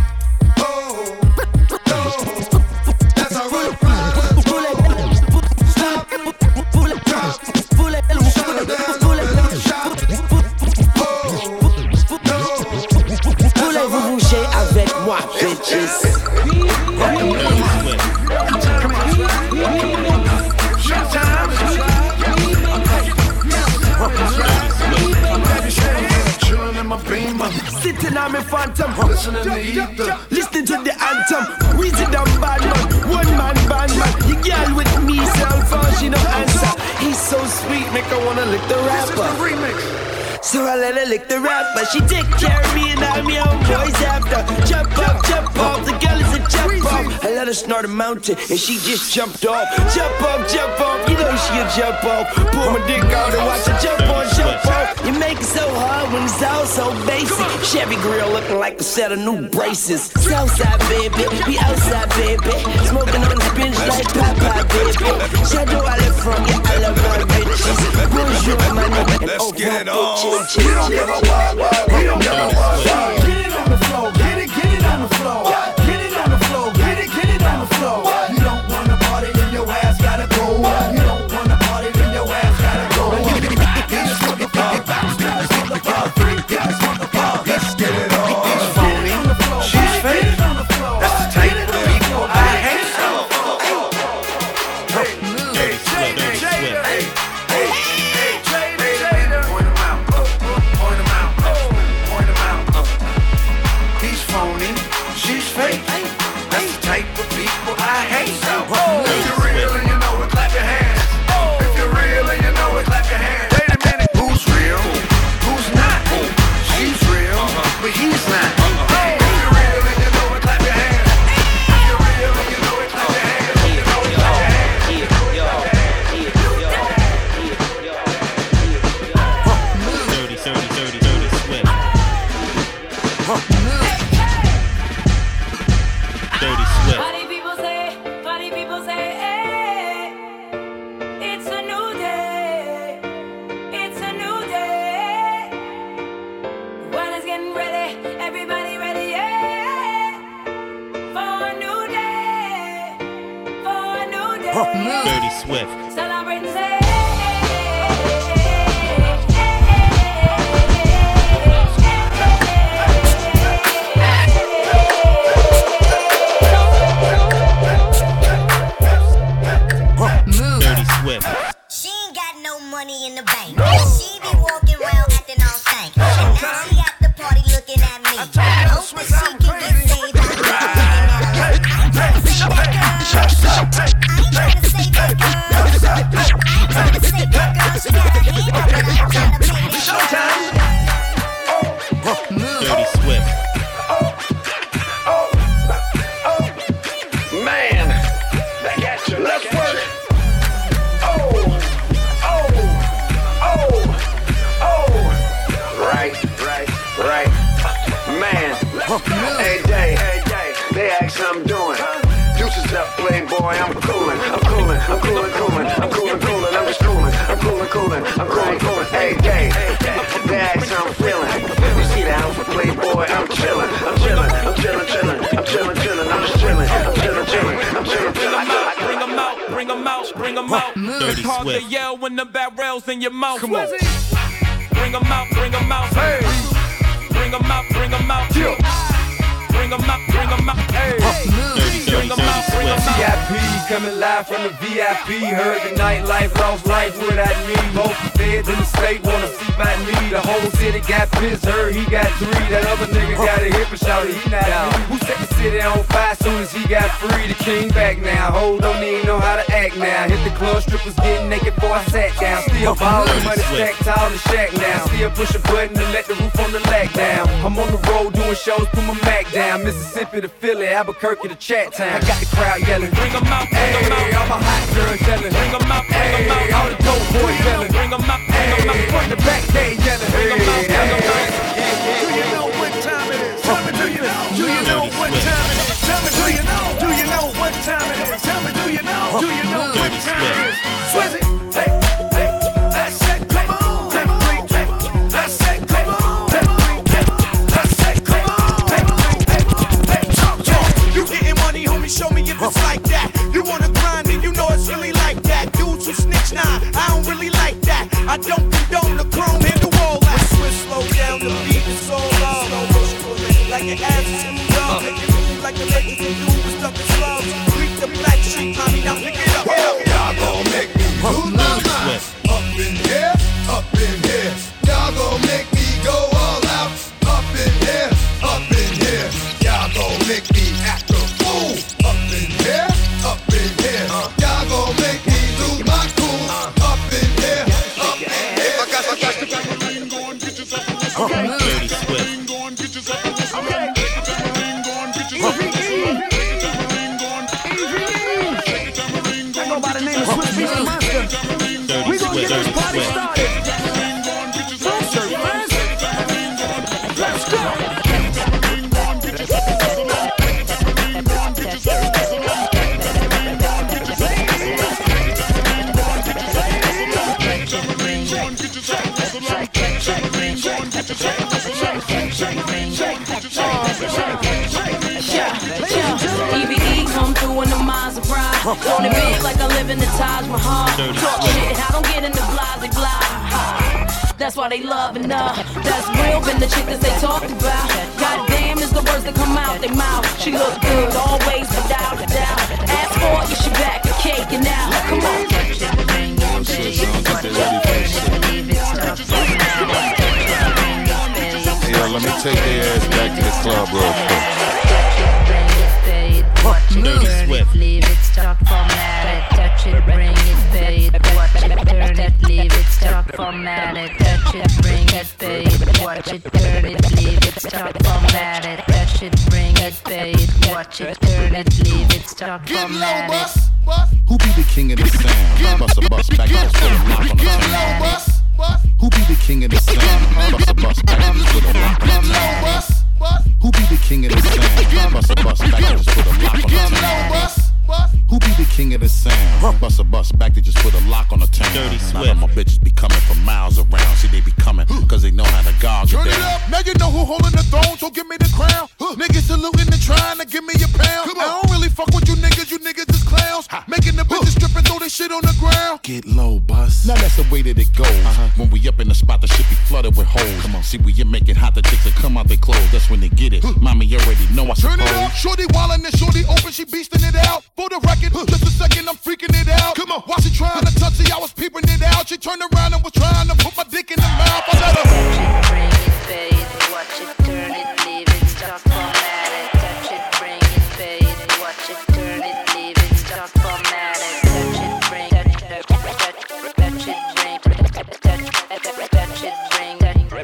Oh, no, that's how Rough Riders roll. Stop, drop, shut them down, open up shop. Oh, no. Voulez-vous bouger avec moi, bitches? Sitting on my phantom, listening to ether, listening to the anthem. Weezy down bad man, one man band man. You girl with me, cell phone, she no answer. He's so sweet, make her wanna lick the rapper. So I let her lick the rapper. She take care of me and I'm your own boys after. Jump up, the girl is a jump off. I let her snort a mountain and she just jumped off. Jump off, you know she a jump off. Pull my dick out and watch her jump off. You make it so hard when it's all so basic. Chevy grill looking like a set of new braces. Southside baby, we outside baby. Smoking on the bench like Popeye baby. Shadow I live from, yeah I love my bitches. Bonjour my nigga and oh my bitches. We don't give a fuck, we don't give a fuck. Get it on the floor, get it on the floor. Get it on the floor, get it on the floor. You don't wanna party, then your ass gotta go. You don't wanna party, then your ass gotta go. This motherfucker, this motherfucker, this motherfucker. Let's get it on. She's phony, she's fake. That's the type of people I hate. If you're real and you know it, clap your hands. If you're real and you know it, clap your hands. Wait a minute, who's real? Who's not? She's real, but he's not. If you're real and you know it, clap your hands. If you're real and you know it, clap your hands. If you know it, clap your hands. Dirty Swift. Dirty Swift. Funny people say, hey, it's a new day. It's a new day. The world is getting ready. Everybody ready, yeah. For a new day. For a new day. Dirty Swift. Celebrate and say, Dirty Swift. She ain't got no money in the bank. She be walking around acting all stank. And now she at the party looking at me. Hope that she can get saved. playboy, I'm coolin', I'm coolin', I'm coolin', coolin', I'm coolin', coolin', I'm just coolin', I'm coolin', coolin', I'm coolin', coolin', hey, hey, that's how I'm feelin'. You see the house of playboy, I'm chillin', I'm chillin', I'm chillin', chillin', I'm chillin', chillin', I'm just chillin', I'm chillin', chillin', I'm chillin', chillin'. Bring them out, bring them out, bring them out. It's hard to yell when the barrel's in your mouth. Come on. Bring them out, bring them out. Hey. Bring them out, bring them out. Bring them out, bring them out. Hey. Bring them out, bring them out. VIP coming live from the VIP. Heard the nightlife, lost life without me. Both feds in the state wanna see by me. The whole city got pissed, heard he got 3. That other nigga got a hip and shouted he not out. Who set the city on fire soon as he got free? The king back now. Ho don't even know how to act now. Hit the club, strippers getting naked before I sat down. Still ballin', money stacked tall in the shack now. Still push a button to let the roof on the lag down. I'm on the road doing shows, put my Mac down. Mississippi to Philly, Albuquerque to Chat Town. I got the crowd yelling, bring them out, bring them out. All my hot girls yelling, bring them out, bring them out. All the dope boys yelling, bring them out, bring them out. From the back they yelling, bring them out, bring them out. Do you know what time it is? Tell me, do you know? Do you know what time it is? Tell me, do you know? Do you know what time it is? Tell me, do you know? Do you know what time it is? Swizzy, hey, hey, I said come on, I said come on, I said come on, hey, talk. You getting money, homie, show me if it's like that. You wanna grind and you know it's really like that. Dudes who snitch, nah, I don't really like that. I don't condone the chrome and the wall that. Switch, slow down, the beat is so low. Like an ass dog, make it move like the legends and dudes stuck in slow. Creep the black sheep, mommy, now pick it up. Y'all gon' make me lose my mind. Up in here, up in here. Y'all gon' make me go all out. Up in here, up in here. Y'all gon' make me act a fool. Up in here, up in here. Y'all gon' make me lose my cool. Up in here, up in here. I got the tambourine, go and get yourself a whistle. Dirty Swift. Go and get yourself a whistle. Take a tambourine, go and get yourself a whistle. Take a tambourine, go and take a tambourine, go and go by the name of Swift Beast the Monster. We gon' get this party started. Let's go. EBE come through in the Maserati. On it big like I live in the Taj Mahal. Talk shit, I don't get into blah. That's why they loving her. That's real, been the chick that they talked about. Goddamn is the words that come out their mouth. She look good, always without a doubt. Ask for it, get you back, a cake and now. Come on. Yo, let me take their ass back to the club real quick. Dirty Swift. Leave it, stop, format it, touch it, bring it, pay it, watch it, turn it, leave it, stop, format it, touch it, bring it, pay it, watch it, turn it, leave it, stop, format it, touch it, bring it, pay it, watch it, turn it, leave it, stop, format it. Who be the king of the sound? Bust a bus back and put a lock on the town. Who be the king of the sound? Bust a bus back and put a lock on the town. Who be the king of the sound? Bust a bus back and just put a lock on the town. Who be the king of the sound? Bust a bus back to just put a lock on the town. Dirty Swift. Now my bitches be coming from miles around. See, they be coming cause they know how to gog it down. Turn it up, now you know who holding the throne, so give me the crown. Niggas saluting and trying to give me a pound. I don't really fuck with you niggas is clowns. Making the bitches strip and throw their shit on the ground. Get low, bus. Now that's the way that it goes. When we up in the spot, the shit be flooded with holes. Come on. See, when you make it hot, the chicks that come out they clothes. That's when they get it. Mommy, you already know I suppose. Turn it up, shorty wildin' and shorty open, she beastin' it out. For the record, just a second, I'm freaking it out. Come on, while she trying to touch it, I was peeping it out. She turned around and was trying to put my dick in the mouth. I let her Bring it, pay it, watch it, turn it, leave it, stop, format it, touch it, bring it, pay it, watch it, turn it, leave it, stop, format it, touch it, bring, touch it, bring, touch it, bring,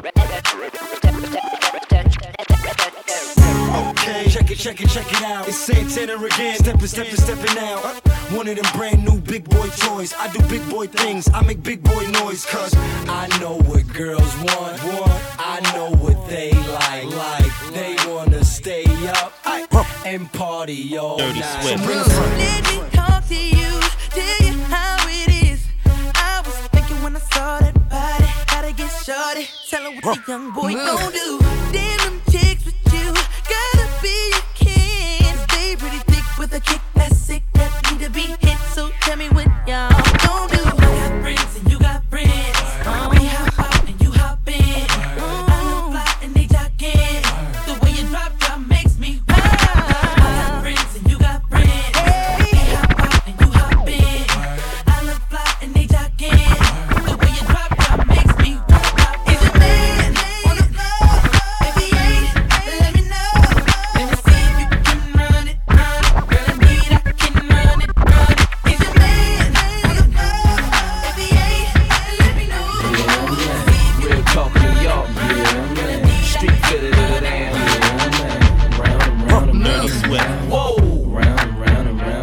Okay, check it out. It's Santana again. Stepping out. One of them brand new big boy toys. I do big boy things. I make big boy noise. Cause I know what girls want. I know what they like. They wanna stay up and party all Dirty night. Swift. Let me talk to you, tell you how it is. I was thinking when I saw that body, gotta get shorty. Tell her what the young boy gon' do. Damn them chicks with you, gotta be a kin. Stay pretty thick with a kick that's sick, that need to be hit. So tell me what y'all gon' do. I got friends and you got friends. We hop out and you hop in. I look fly and they jogging. The way you drop makes me wild. I got friends and you got friends. We hop out and you hop in. I look fly and they jogging. The way you drop makes me wild. Is your man on the floor? If he ain't, let me know. Let me see if you can run it, run it. Girl, I need I can run it, run it. Is your man on the floor? If he ain't, let me know. Real talk New York, street fitted to the damn. Round and round and round. Swift. Whoa, round and round and round.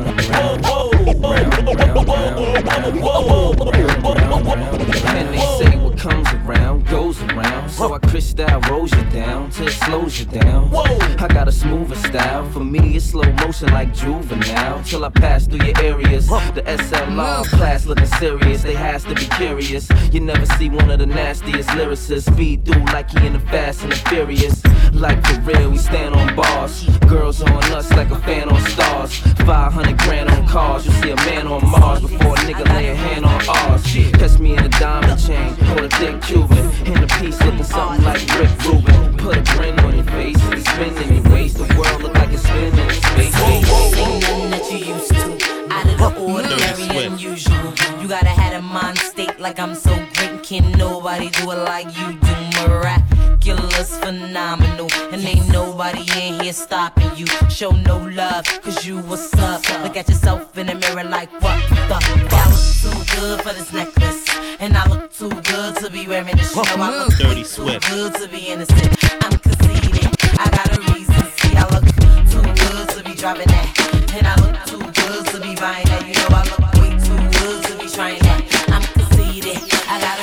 And they say what comes around goes around. So I crystal rolls you down till it slows you down. I got a smoother style. For me, it's slow motion like juvenile. Till I pass through your areas. The SLR class looking serious. They has to be curious. You never see one of the nastiest lyricists speed through like he in the Fast and the Furious. Like for real, we stand on bars. Girls on us like a fan on stars. 500 grand on cars. You see a man on Mars before a nigga lay a hand on ours. Catch me in a diamond chain or a thick Cuban. In a piece looking something like Rick Rubin. Put a grin on your face and spin in your waist. The world look like it's spinning in space. Ain't nothing that you used to. Out of the ordinary, unusual. You gotta have a mind state like I'm so great. Can't nobody do it like you do. Miraculous, phenomenal. And ain't nobody in here stopping you. Show no love, cause you what's up. Look at yourself in the mirror like what the fuck. I look too good for this necklace. And I look too good to be wearing this. You know I look Dirty too Swift. good to be innocent. I'm conceited, I got a reason. See, I look too good to be driving that. And I look too good to be buying that. You know I look way too good to be trying that. I'm conceited, I got a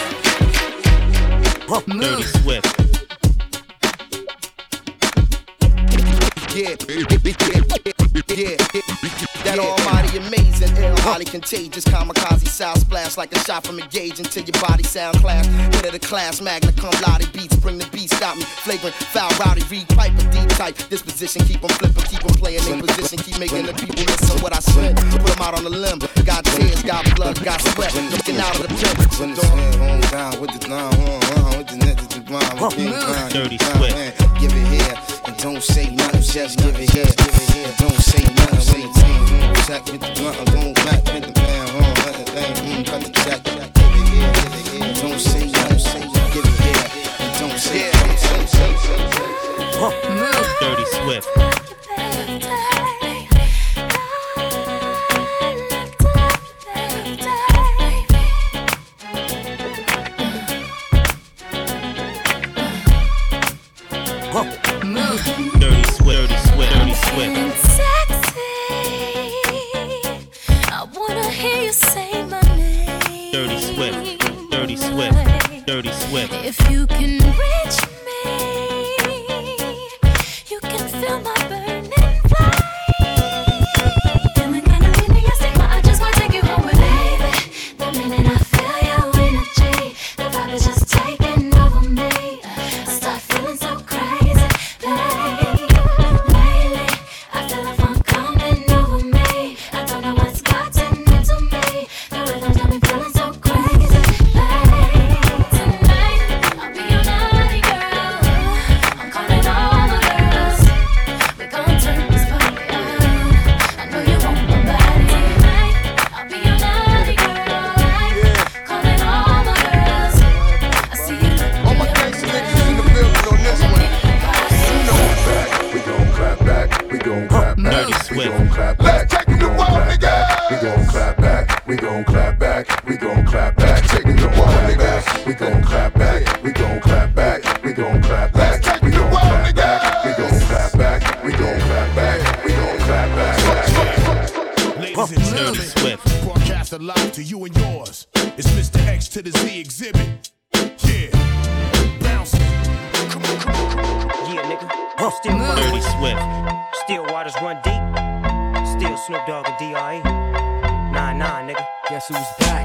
reason. Dirty Swift. Yeah, that almighty amazing, ill, highly contagious, kamikaze style splash like a shot from a gauge until your body sound class. Head of the class, magna cum laude beats, bring the beat, stop me, flagrant, foul, rowdy, read pipe, a deep type, disposition, keep them flipping, keep them playing in position, keep making the people listen what I spit, put them out on the limb, got tears, got blood, got sweat, looking out of the pit. When the sun down with the line, with the net, the blind, Dirty Swift. Give it here, and don't say nothing, just give it here, and don't say nothing, say it. Sack with the blunt, don't back with the band, let the thing, cut the track, give it here, don't say nothing, give it here, and don't say Dirty Swift. Dirty Swift, Dirty Swift, Dirty Swift. I wanna hear you say my name. Dirty Swift, Dirty Swift, Dirty Swift. If you can reach me, you can feel my burning flame. Feeling kinda enthusiastic, but I just wanna take you home with baby. The minute I feel your energy, the vibe is just taking over me. I start feeling so crazy, babe. Lately, I feel the funk coming over me. I don't know what's gotten into me. The rhythm's got me feeling so crazy, babe. Tonight, I'll be your naughty girl. I'm calling all my girls. We gon' turn this party up. I know you want my body tonight. I'll be your naughty girl. Calling all my girls. I see you looking all my gangsta niggas in the building on this one. We gon' clap back, we gon' clap back, we gon' clap back. Let's take the wall, nigga. We gon' clap back, we gon' clap back, we gon' clap back. Taking the wall, nigga. We gon' clap back, we gon' clap back, we gon' clap back. We gon' clap back, we gon' clap back, we gon' clap back, we gon' clap back. Ladies and gentlemen, broadcast live to you and yours. It's Mr. X to the Z exhibit. Yeah, bounce. Come on, come on, come on. Yeah, nigga. Still Dirty Swift. Still waters run deep. Still Snoop Dogg and D.R.E. Nah, nigga. Guess who's back?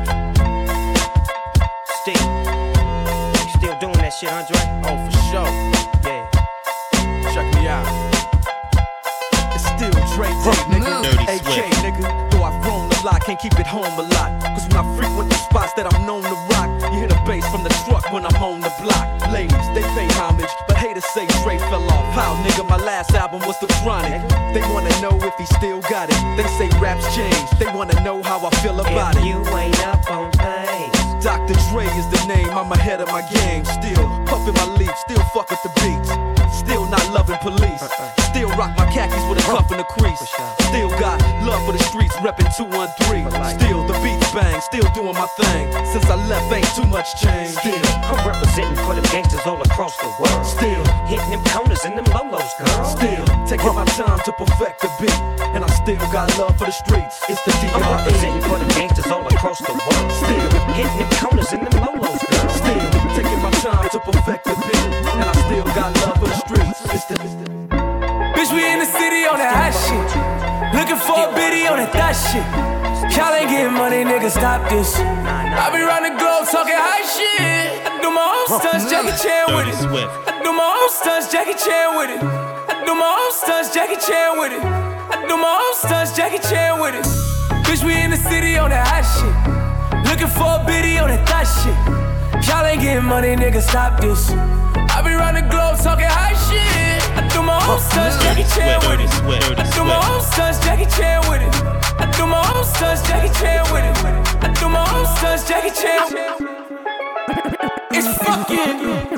Still. You still doing that shit, Andre? Oh, for sure. Yeah. Check me out. It's still Dre D, nigga. Dirty AK, Swift. nigga. Though I've grown a lot, can't keep it home a lot. Cause when I frequent the spots that I'm known to rock, you hear the bass from the truck when I'm on the block. Ladies, they pay homage, but haters say Dre fell off. How, nigga, my last album was The Chronic. They wanna know if he still got it. They say raps change, they wanna know how I feel about it. You ain't up on things. Dr. Dre is the name, I'm ahead of my game. Still puffin' my leaf, still fuck with the beats. Still not loving police. Still rock my khakis with a cuff in the crease. Still got love for the streets, reppin' 213. Still the beats bang, still doing my thing. Since I left, ain't too much change. Still, I'm representing for them gangsters all across the world. Still hitting them corners and them lolos, girl. Still taking my time to perfect the beat, and I still got love for the streets. It's the D.R.E. I'm representing for them gangsters all across the world. Still hitting them corners and them lolos, girl. Still taking my time to perfect the beat, and I still got love for the streets. It's the Bitch, we in the city on that hot shit. Looking for a biddy on that thot shit. Y'all ain't getting money, nigga, stop this. I be round the globe talking high shit. I do my own stunts, Jackie Chan with it. I do my own stunts, Jackie Chan with it. I do my own stunts, Jackie Chan with it. I do my own stunts, Jackie Chan with it. Bitch, we in the city on that hot shit. Looking for a biddy on that thot shit. Y'all ain't getting money, nigga, stop this. I be round the globe talking high shit. I do my own stunts, Jackie Chan with it. I do my own stunts, Jackie Chan with it. I do my own stunts, Jackie Chan with it. I do my own stunts, Jackie Chan. It's fucking.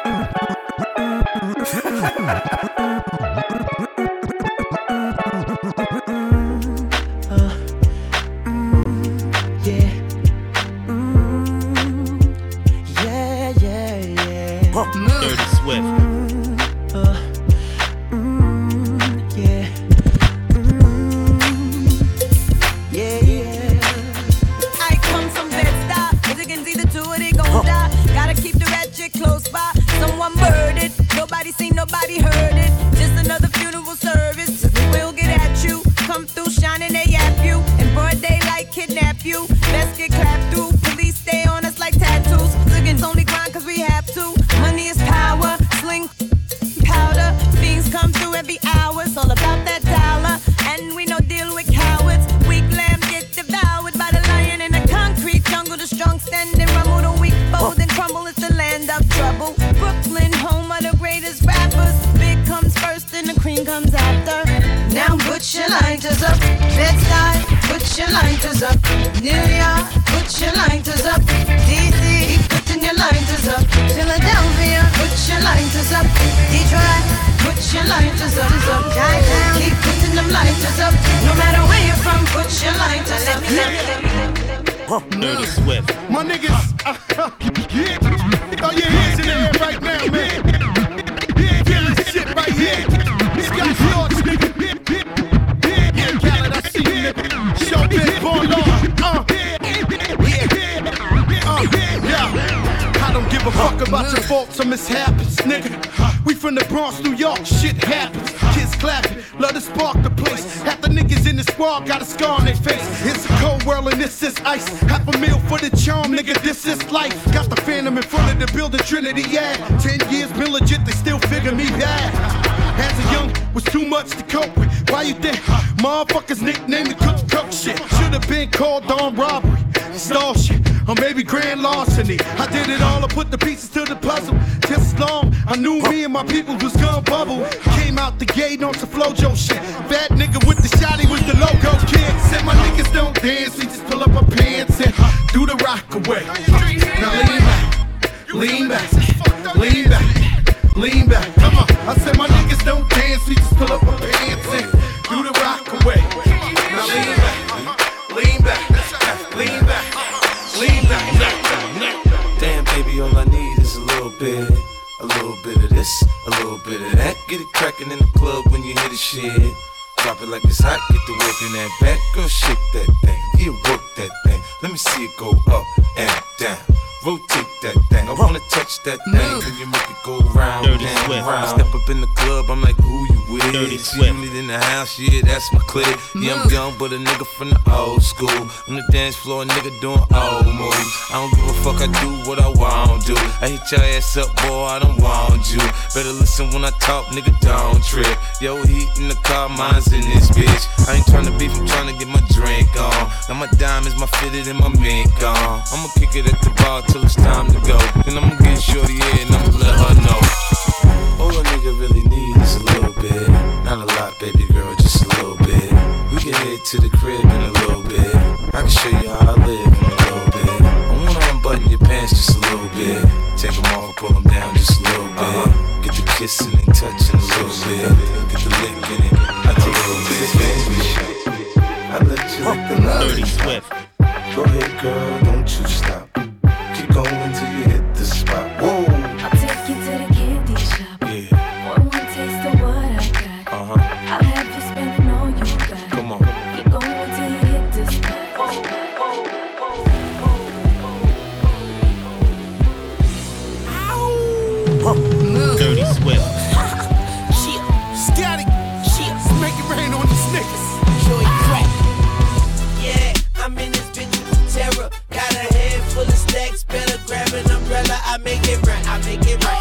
Dirty Swift. I come from Bed-Stuy. As you can see, the two of they gon' die. Gotta keep the ratchet close by. Someone murdered. Nobody seen, nobody heard it. Just another funeral service. We'll get at you. Come through shining, they yap you. In broad daylight, kidnap you. Best get clapped through. Police stay on us like tattoos. Liggins only grind cause we have to. Money is power. Sling powder. Fiends come through every hour. It's all about that dollar. And we no deal with cowards. Weak lamb get devoured by the lion in the concrete jungle. The strong stand and rumble. The weak fold and crumble. It's the land of trouble. Brooklyn, home of the greatest rappers. Big comes first and the cream comes after. Now put your lighters up. Bed-Stuy, put your lighters up. New York, put your lighters up. DC, keep putting your lighters up. Philadelphia, put your lighters up. Detroit, put your lighters up. Chi-Town, keep putting them lighters up. No matter where you're from, put your lighters up. Dirty Swift. My niggas, throw your hands in the air right now, man. Feel this shit right here. This guy's yours, nigga. Yeah, Khaled, I see you, nigga. Show this born law. Yeah. I don't give a fuck about your faults or mishaps, nigga. We from the Bronx, New York, shit happens. Kids clapping, love to spark the place. Half the niggas in the squad got a scar on their face. It's a cold world and this is ice. $500,000 for the charm, nigga, this is life. Got the Phantom in front of the building, Trinity, yeah. 10 years been legit, they still figure me bad. As a young, was too much to cope with. Why you think motherfuckers nicknamed the cook shit? Should've been called on robbery, stall shit, or maybe grand larceny. I did it all, I put the pieces to the puzzle. Just as long, I knew me and my people was gonna bubble. Came out the gate on some Flojo shit. Bad nigga with the shotty was the logo kid. Said my niggas don't dance, we just pull up our pants and do the rock away. Now lean back, lean back, lean back. Come on, I said my niggas don't dance, we just pull up our pants and do the rock away. Now lean back, lean back, lean back, lean back. Damn, baby, all I need is a little bit of this, a little bit of that. Get it crackin' in the club when you hear the shit. Drop it like it's hot, get the work in that back. Girl, shake that thing, yeah, work that thing. Let me see it go up and down, rotate that thing. I wanna touch that thing, then you make it go round and round. I step up in the club, I'm like, who you with? See it in the house, yeah, that's my clique. Yeah, I'm young, but a nigga from the old school. On the dance floor, a nigga doing old moves. I don't give a fuck, I do what I want to. I hit your ass up, boy, I don't want you. Better listen when I talk, nigga, don't trip. Yo, heat in the car, mine's in this bitch. I ain't tryna beef, I'm tryna get my drink on. Now my diamonds, my fitted, and my mink on. I'ma kick it at the bar till it's time to go. Then I'ma get shorty here and I'ma let her know. All a nigga really needs is a little bit. Not a lot, baby girl, just a little bit. We can head to the crib in a little bit. I can show you how I live in a little bit. I wanna unbutton your pants just a little bit. Take them off and pull them down just a little bit. Get the kissing and touching a little bit. Get the lick in it, a little bit. I let you lick the love. Dirty Swift. Go ahead, girl, don't you stop. Keep going till you hit the spot. Whoa. I'll take you to the candy shop. Yeah. One taste of what I got. I'll have you spending all you got. Come on. Keep going till you hit the spot. Dirty Swift. Shit, scatty. Shit, make it rain on these niggas. Joey crack. Yeah, I'm in this bitch with terror. Got a head full of stacks, better grab an umbrella. I make it right, I make it right.